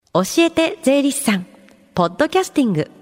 教えて税理士さんポッドキャスティング。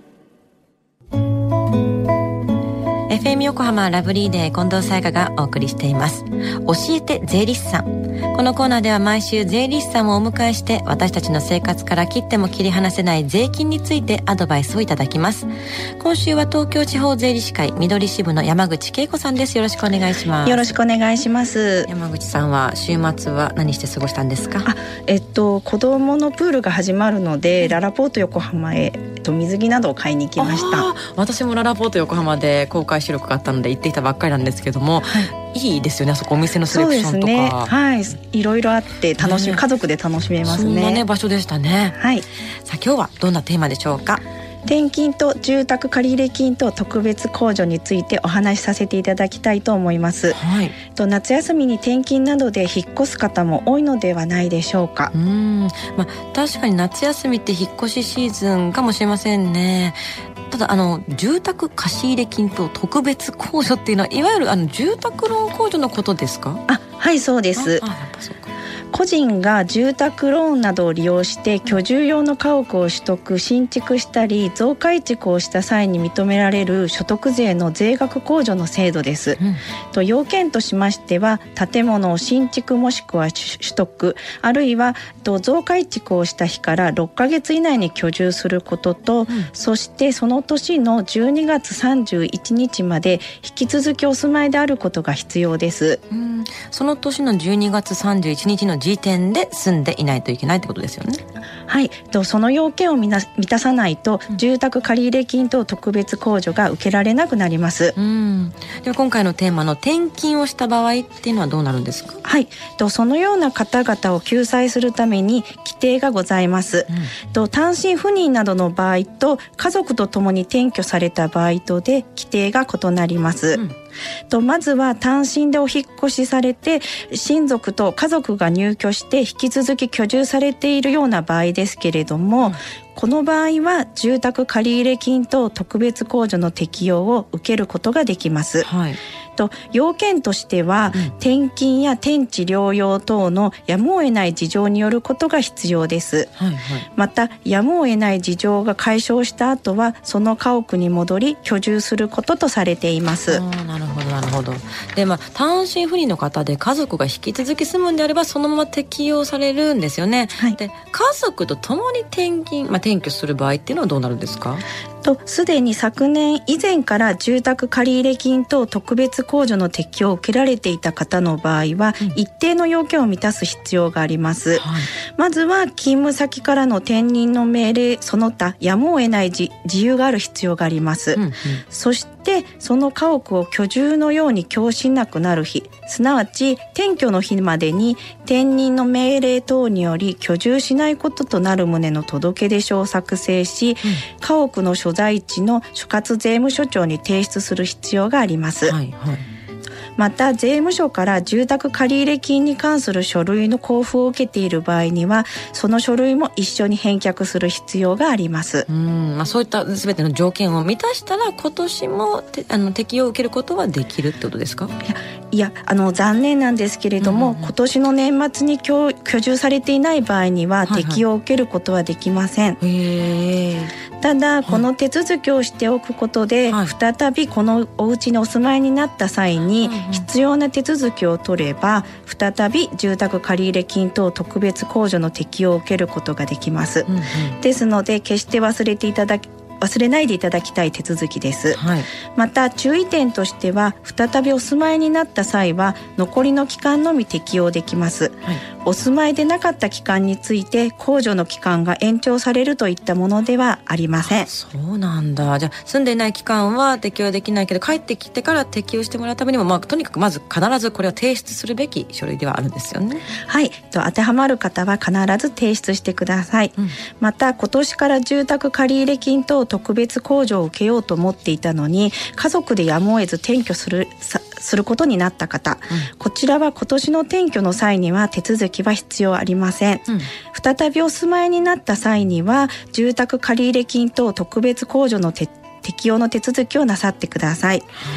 FM 横浜ラブリーデー近藤沙耶香がお送りしています。教えて税理士さん。このコーナーでは毎週税理士さんをお迎えして、私たちの生活から切っても切り離せない税金についてアドバイスをいただきます。今週は東京地方税理士会緑支部の山口恵子さんです。よろしくお願いします。 よろしくお願いします。 山口さんは週末は何して過ごしたんですか？ 子供のプールが始まるので、ララポート横浜へ水着などを買いに行きました。 私もララポート横浜で公開収録があったので行ってきたばっかりなんですけども、いいですよね、あそこお店のセレクションとか。そうですね、 はい、いろいろあって家族で楽しめますね。 そんなね場所でしたね。はい。さあ今日はどんなテーマでしょうか？ 転勤と住宅借入金等特別控除についてお話しさせていただきたいと思います。はい。夏休みに転勤などで引っ越す方も多いのではないでしょうか。 確かに夏休みって引っ越しシーズンかもしれませんね。ただ住宅貸入金等特別控除っていうのは、いわゆる住宅ローン控除のことですか？ はい、そうです。やっぱそうか。個人が住宅ローンなどを利用して居住用の家屋を取得新築したり増改築をした際に認められる所得税の税額控除の制度です。要件としましては、建物を新築もしくは取得、あるいは増改築をした日から6ヶ月以内に居住することと、そしてその年の12月31日まで引き続きお住まいであることが必要です。 その年の12月31日の時点で住んでいないといけないってことですよね。 はい、その要件を満たさないと、住宅借入金等特別控除が受けられなくなります。 では今回のテーマの転勤をした場合っていうのはどうなるんですか？ はい、そのような方々を救済するために規定がございます。単身赴任などの場合と家族とともに転居された場合とで規定が異なります。まずは単身でお引っ越しされて親族と家族が入居して引き続き居住されているような場合ですけれども、この場合は住宅借入金等特別控除の適用を受けることができます。要件としては、転勤や転地療養等のやむを得ない事情によることが必要です。またやむを得ない事情が解消した後はその家屋に戻り居住することとされています。 なるほど。で、単身赴任の方で家族が引き続き住むんであればそのまま適用されるんですよね。で、家族と共に転居する場合っていうのはどうなるんですか？ すでに昨年以前から住宅借入金等特別控除の適用を受けられていた方の場合は、一定の要件を満たす必要があります。まずは勤務先からの転任の命令その他やむを得ない自由がある必要があります。そしてその家屋を居住のように供しなくなる日、すなわち転居の日までに転任の命令等により居住しないこととなる旨の届出書を作成し、家屋の所在地の所轄税務署長に提出する必要があります。また税務署から住宅借入金に関する書類の交付を受けている場合にはその書類も一緒に返却する必要があります。 そういった全ての条件を満たしたら今年も適用を受けることはできるってことですか？ いや残念なんですけれども、今年の年末に居住されていない場合には適用を受けることはできません。ただこの手続きをしておくことで、再びこのお家にお住まいになった際に必要な手続きを取れば再び住宅借入金等特別控除の適用を受けることができます。ですので決して忘れないでいただきたい手続きです。また注意点としては、再びお住まいになった際は残りの期間のみ適用できます。お住まいでなかった期間について控除の期間が延長されるといったものではありません。 そうなんだ。じゃあ住んでいない期間は適用できないけど帰ってきてから適用してもらうためにも、とにかくまず必ずこれを提出するべき書類ではあるんですよね。 当てはまる方は必ず提出してください。また今年から住宅借入金等特別控除を受けようと思っていたのに家族でやむを得ず転居することになった方、こちらは今年の転居の際には手続きは必要ありません。再びお住まいになった際には住宅借入金等特別控除の適用の手続きをなさってください。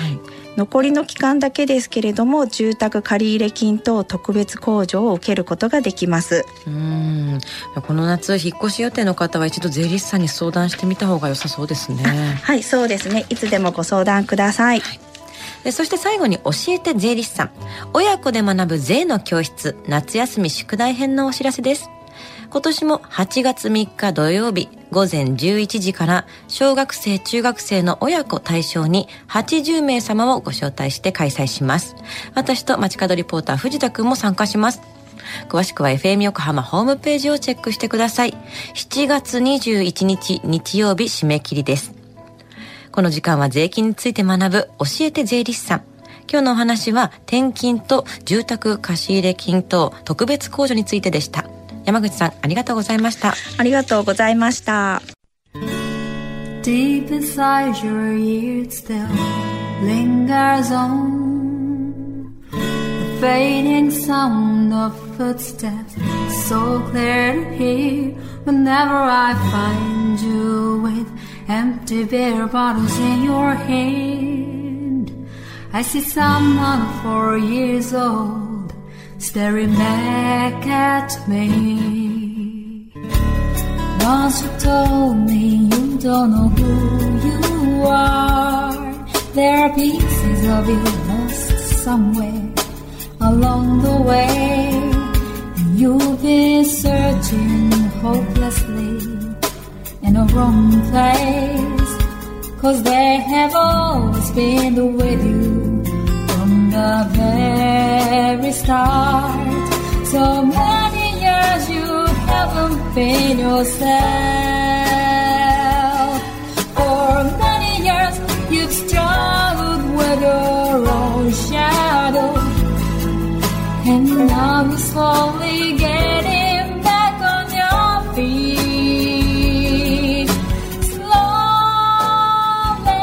残りの期間だけですけれども、住宅借入金等特別控除を受けることができます。 この夏引っ越し予定の方は一度税理士さんに相談してみた方が良さそうですね。 はい、そうですね。いつでもご相談ください。 でそして最後に教えて税理士さん、親子で学ぶ税の教室夏休み宿題編のお知らせです。今年も8月3日土曜日午前11時から小学生中学生の親子対象に80名様をご招待して開催します。私と街角リポーター藤田くんも参加します。詳しくは FM 横浜ホームページをチェックしてください。7月21日日曜日締め切りです。この時間は税金について学ぶ教えて税理士さん。今日のお話は転勤と住宅貸入金等特別控除についてでした。山口さん、ありがとうございました。 ありがとうございました。 Deep inside your ear it still lingers on the fading sound of footsteps, so clear to hear whenever I find you with empty beer bottles in your hand. I see someone 4 years old staring back at me. Once you told me you don't know who you are. There are pieces of you lost somewhere along the way, and you've been searching hopelessly in a wrong place, 'cause they have always been with you from the very start. So many years you haven't been yourself. For many years you've struggled with your own shadow, and now you're slowly getting back on your feet. Slowly,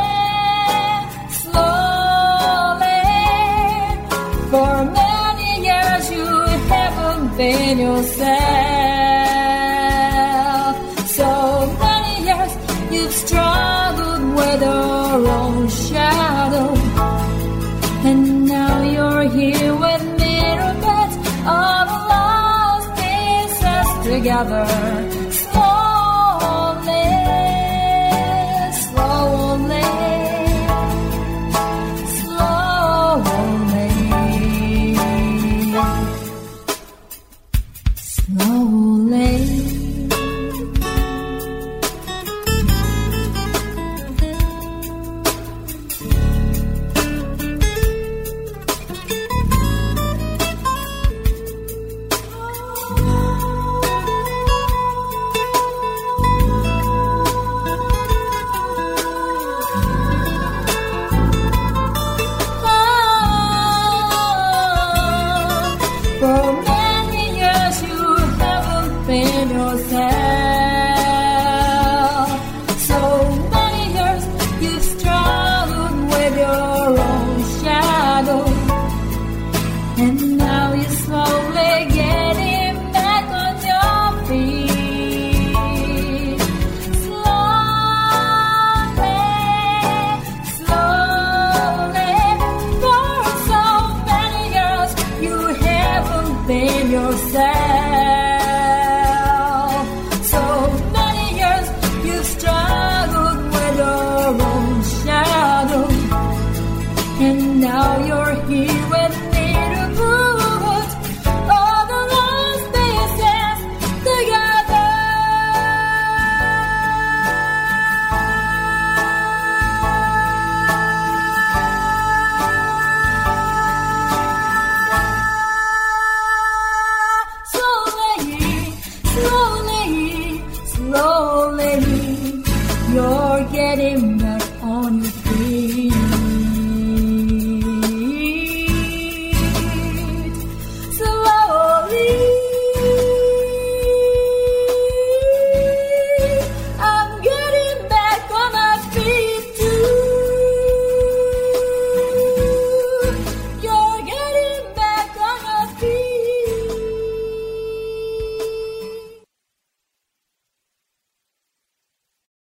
slowly. For many years you haven't been yourself. So many years you've struggled with your own shadow, and now you're here with mirror beds, all the lost pieces together.